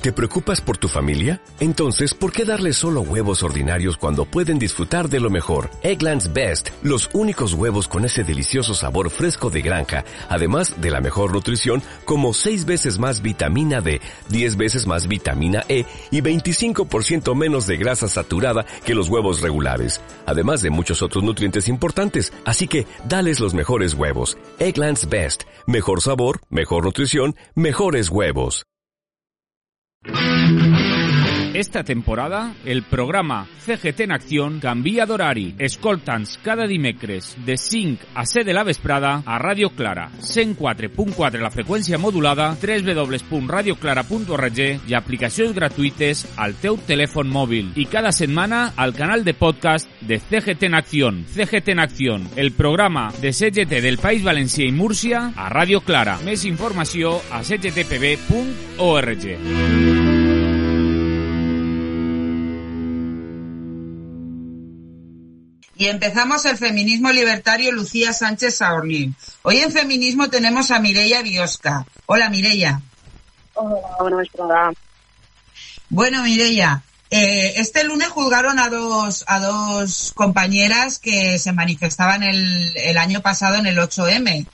¿Te preocupas por tu familia? Entonces, ¿por qué darles solo huevos ordinarios cuando pueden disfrutar de lo mejor? Eggland's Best, los únicos huevos con ese delicioso sabor fresco de granja, además de la mejor nutrición, como 6 veces más vitamina D, 10 veces más vitamina E y 25% menos de grasa saturada que los huevos regulares, además de muchos otros nutrientes importantes. Así que, dales los mejores huevos. Eggland's Best, mejor sabor, mejor nutrición, mejores huevos. Esta temporada, el programa CGT en Acción canvia d'horari. Escolta'ns cada dimecres de 5 a 7 de la vesprada a Ràdio Clara, 104.4 la freqüència modulada, www.radioclara.org i aplicacions gratuïtes al teu telèfon mòbil. I cada setmana al canal de podcast de CGT en Acción. CGT en Acción, el programa de CGT del País Valencià i Múrcia a Ràdio Clara. Més informació a cgtpb.org. Y empezamos el feminismo libertario Lucía Sánchez Saorní. Hoy en Feminismo tenemos a Mireia Biosca. Hola, Mireia. Hola, buenas tardes. Bueno, Mireia, este lunes juzgaron a dos compañeras que se manifestaban el año pasado en el 8M.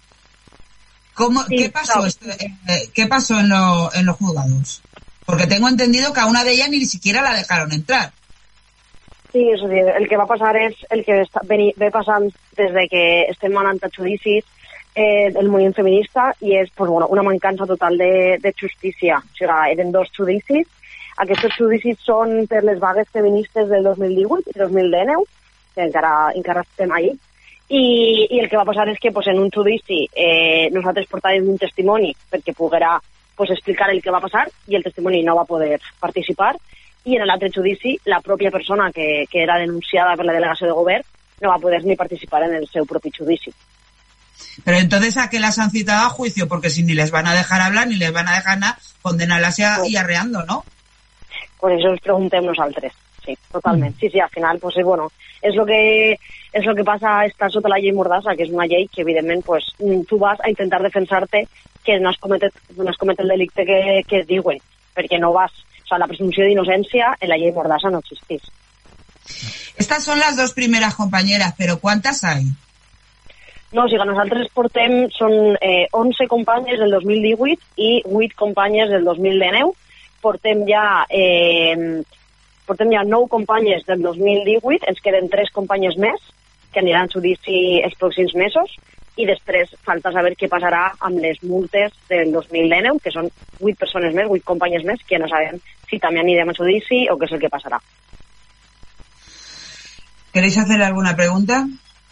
Sí, ¿Qué pasó en los juzgados? Porque tengo entendido que a una de ellas ni siquiera la dejaron entrar. Sí, és a dir, el que va passar és el que ve passant des de que estem anant a judicis del moviment feminista i és pues, bueno, una mancança total de justícia. O sigui, eren 2 judicis. Aquests judicis són per les vagues feministes del 2018 i 2019, que encara estem ahí. I el que va passar és que pues, en un judici nosaltres portàvem un testimoni perquè poguera pues, explicar el que va passar i el testimoni no va poder participar. I en l'altre judici, la pròpia persona que era denunciada per la delegació de govern no va poder ni participar en el seu propi judici. Pero entonces, ¿a qué las han citado a juicio? Porque si ni les van a dejar hablar, ni les van a dejar nada, condenarlas y arreando, ¿no? Pues eso ens preguntem nosaltres, sí, totalment. Sí, al final, pues bueno, és lo que passa estar sota la llei Mordassa, que és una llei que, evidentment, pues, tu vas a intentar defensar-te que no has cometet el delicte que et diuen, perquè no vas. O sea, la presunció d'innocència en la llei Mordassa no existís. Estas son las 2 primeras compañeras, pero ¿cuántas hay? No, o sigui, nosaltres són 11 companyes del 2018 i 8 companyes del 2019. Portem ja 9 companyes del 2018, ens queden 3 companyes més que aniran a judici els pròxims mesos i després falta saber què passarà amb les multes del 2019, que són 8 persones més, 8 companyes més, que no sabem si també anirem a judici o què és el que passarà. ¿Queréis hacer alguna pregunta?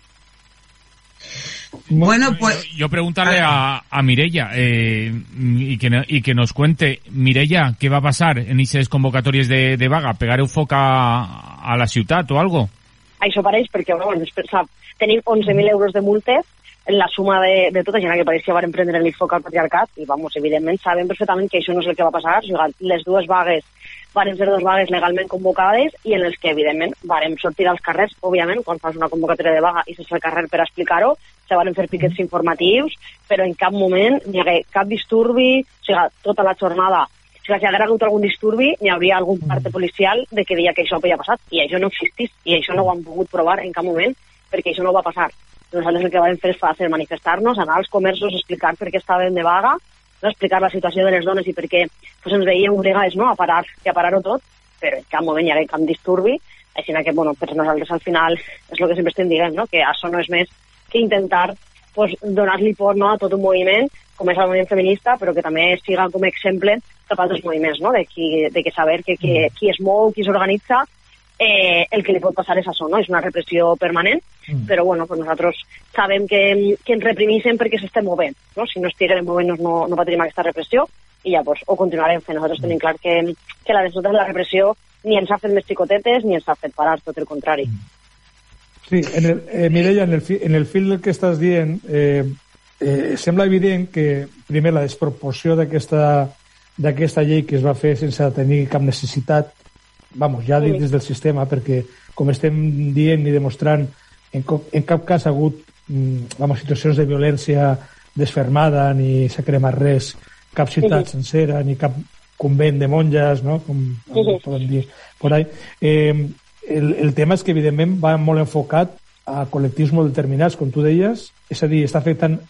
Bueno, pues... Yo preguntarle a Mireia y que nos cuente, Mireia, ¿qué va a pasar en esas convocatorias de vaga? ¿Pegar un foc a la ciutat o algo? Això pareix perquè, bueno, tenim 11.000 euros de multes en la suma de tota gent que pareix que van prendre l'IFOC al patriarcat i, vamos, evidentment, sabem perfectament que això no és el que va passar. Les 2 vagues van ser 2 vagues legalment convocades i en les que, evidentment, vam sortir als carrers, òbviament, quan fas una convocatòria de vaga i s'és al carrer per explicar-ho, se van fer piquets informatius, però en cap moment hi hagué cap disturbi, o sigui, tota la jornada. O sigui, si hagués hagut algun disturbi, hi hauria algun parte policial de que deia que això havia passat, i això no existís, i això no ho han pogut provar en cap moment, perquè això no va passar. Nosaltres el que vam fer és fàcil manifestar-nos, anar als comerços, explicar per què estàvem de vaga, no explicar la situació de les dones i per què pues, ens veiem obligades no, a parar-ho tot, però en cap moment hi ha cap disturbi, així que bueno, per nosaltres al final és el que sempre estem dient, no? Que això no és més que intentar pues, donar-li por no, a tot un moviment, com és el moviment feminista, però que també siga com a exemple cap a altres moviments, no? de que saber que qui es mou, qui s'organitza, el que li pot passar és això, no? És una repressió permanent, però bueno, pues nosaltres sabem que ens reprimissen perquè s'estem movent, no? Si no estiguem movent no patirem aquesta repressió i ja pues, ho continuarem fent. Nosaltres tenim clar que la de la repressió ni ens ha fet més xicotetes ni ens ha fet parar, tot el contrari. Sí, Mireia, en el fil que estàs dient, sembla evident que, primer, la desproporció d'aquesta llei que es va fer sense tenir cap necessitat, ja dit des del sistema, perquè, com estem dient i demostrant, en cap cas ha hagut situacions de violència desfermada, ni s'ha cremat res, cap ciutat sencera, ni cap convent de monges, no? Com poden dir por ahí. El tema és que, evidentment, va molt enfocat a col·lectius molt determinats, com tu deies, és a dir, està afectant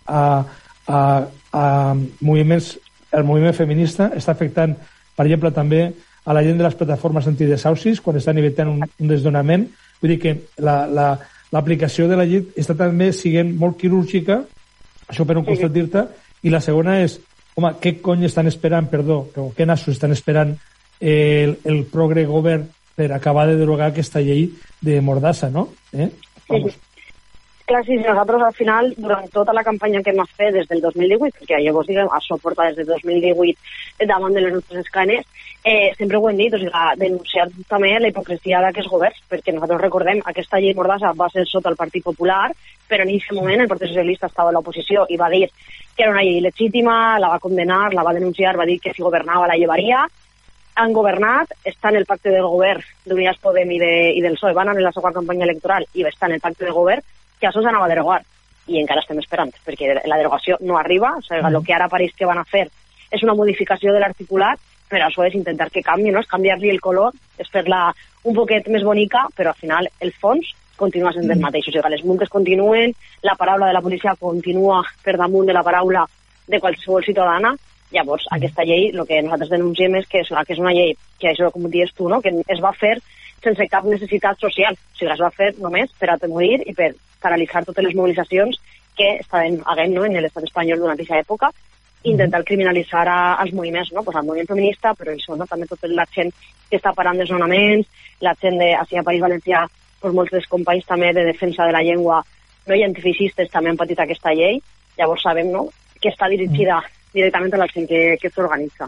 a moviments, el moviment feminista, està afectant, per exemple, també a la gent de les plataformes antidesaucis, quan estan evitant un desdonament. Vull dir que l'aplicació de la llei està també sent molt quirúrgica, això per un costat dir-te, i la segona és, home, què cony estan esperant, o què nassos estan esperant el progre govern per acabar de derogar aquesta llei de Mordassa, no? Vamos. Clar, sí, nosaltres al final, durant tota la campanya que hem fet des del 2018, perquè llavors, diguem, això porta des del 2018 davant de les nostres escanes, sempre ho hem dit, o sigui, denunciar també la hipocresia d'aquests governs, perquè nosaltres recordem, aquesta llei Mordassa va ser sota el Partit Popular, però en aquest moment el Partit Socialista estava a l'oposició i va dir que era una llei legítima, la va condenar, la va denunciar, va dir que si governava la llevaria. Han governat, està en el pacte del govern d'Unidas Podem i del PSOE, van anar en la seva campanya electoral i està en el pacte de govern, que això s'anava a derogar, i encara estem esperant, perquè la derogació no arriba, o sigui, el que ara pareix que van a fer és una modificació de l'articulat, però això és intentar que canvi, no? És canviar-li el color, és fer-la un poquet més bonica, però al final el fons continua sent el mateix, o sigui, les multes continuen, la paraula de la policia continua per damunt de la paraula de qualsevol ciutadana. Llavors, aquesta llei, el que nosaltres denunciem és que és una llei que, això com dius tu, no? Que es va fer sense cap necessitat social, o sigui, es va fer només per atemorir i per paralitzar totes les mobilitzacions que estaven havent, no, en l'estat espanyol durant aquesta època, intentar criminalitzar als moviments, no? Pues al moviment feminista, però això, no? També tota la gent que està parant desnonaments, la gent a País Valencià, pues molts dels companys també de defensa de la llengua no identificistes també han patit aquesta llei, llavors sabem, no?, que està dirigida directamente a la gent que se organiza.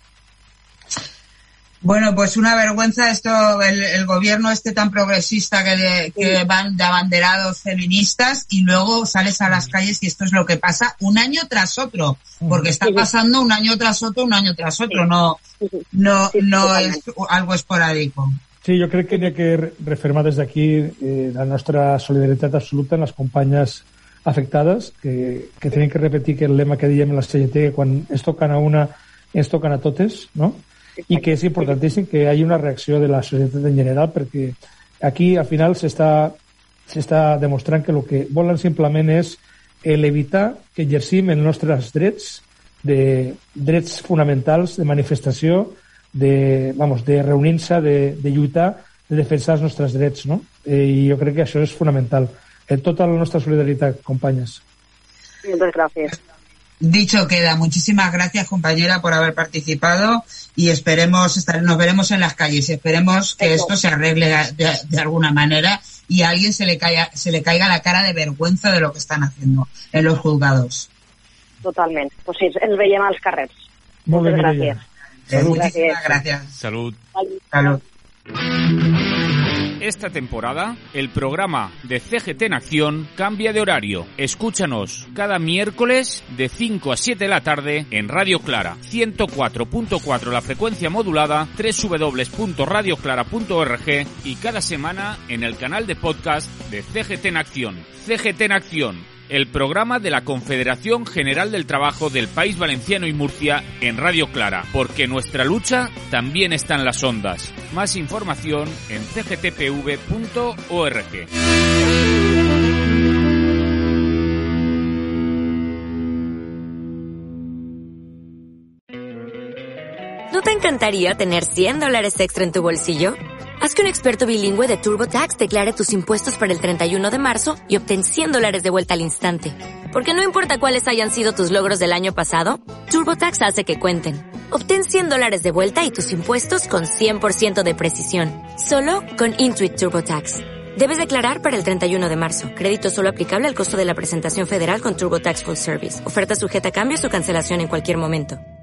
Bueno, pues una vergüenza esto, el gobierno tan progresista que van de abanderados feministas y luego sales a las calles y esto es lo que pasa un año tras otro, porque está pasando un año tras otro, no es algo esporádico. Sí, jo crec que n'hi ha que refermar des d'aquí la nostra solidaritat absoluta en les companyes afectades, que tenen que repetir que el lema que diem en la CGT, quan es toquen a una, es toquen a totes, no? I que és importantíssim que hi hagi una reacció de la societat en general, perquè aquí al final s'està demostrant que el que volen simplement és evitar que exercim els nostres drets fonamentals de manifestació, de reunir-se, de lluitar, de defensar els nostres drets, no? I jo crec que això és fonamental. Tota la nostra solidaritat, companyes. Muchas gracias. Dicho queda. Muchísimas gracias, compañera, por haber participado y nos veremos en las calles y esperemos que esto se arregle de alguna manera y a alguien se le caiga la cara de vergüenza de lo que están haciendo en los juzgados. Totalmente. Pues sí, ens veiem als carrers. Muchas gracias. Muchísimas gracias. Salud. Salud. Esta temporada, el programa de CGT en Acción cambia de horario. Escúchanos cada miércoles de 5 a 7 de la tarde en Radio Clara, 104.4 la frecuencia modulada, www.radioclara.org y cada semana en el canal de podcast de CGT en Acción. CGT en Acción, el programa de la Confederación General del Trabajo del País Valenciano y Murcia en Radio Clara, porque nuestra lucha también está en las ondas. Más información en cgtpv.org. ¿No te encantaría tener $100 extra en tu bolsillo? Haz que un experto bilingüe de TurboTax declare tus impuestos para el 31 de marzo y obtén $100 de vuelta al instante. Porque no importa cuáles hayan sido tus logros del año pasado, TurboTax hace que cuenten. Obtén $100 de vuelta y tus impuestos con 100% de precisión. Solo con Intuit TurboTax. Debes declarar para el 31 de marzo. Crédito solo aplicable al costo de la presentación federal con TurboTax Full Service. Oferta sujeta a cambios o cancelación en cualquier momento.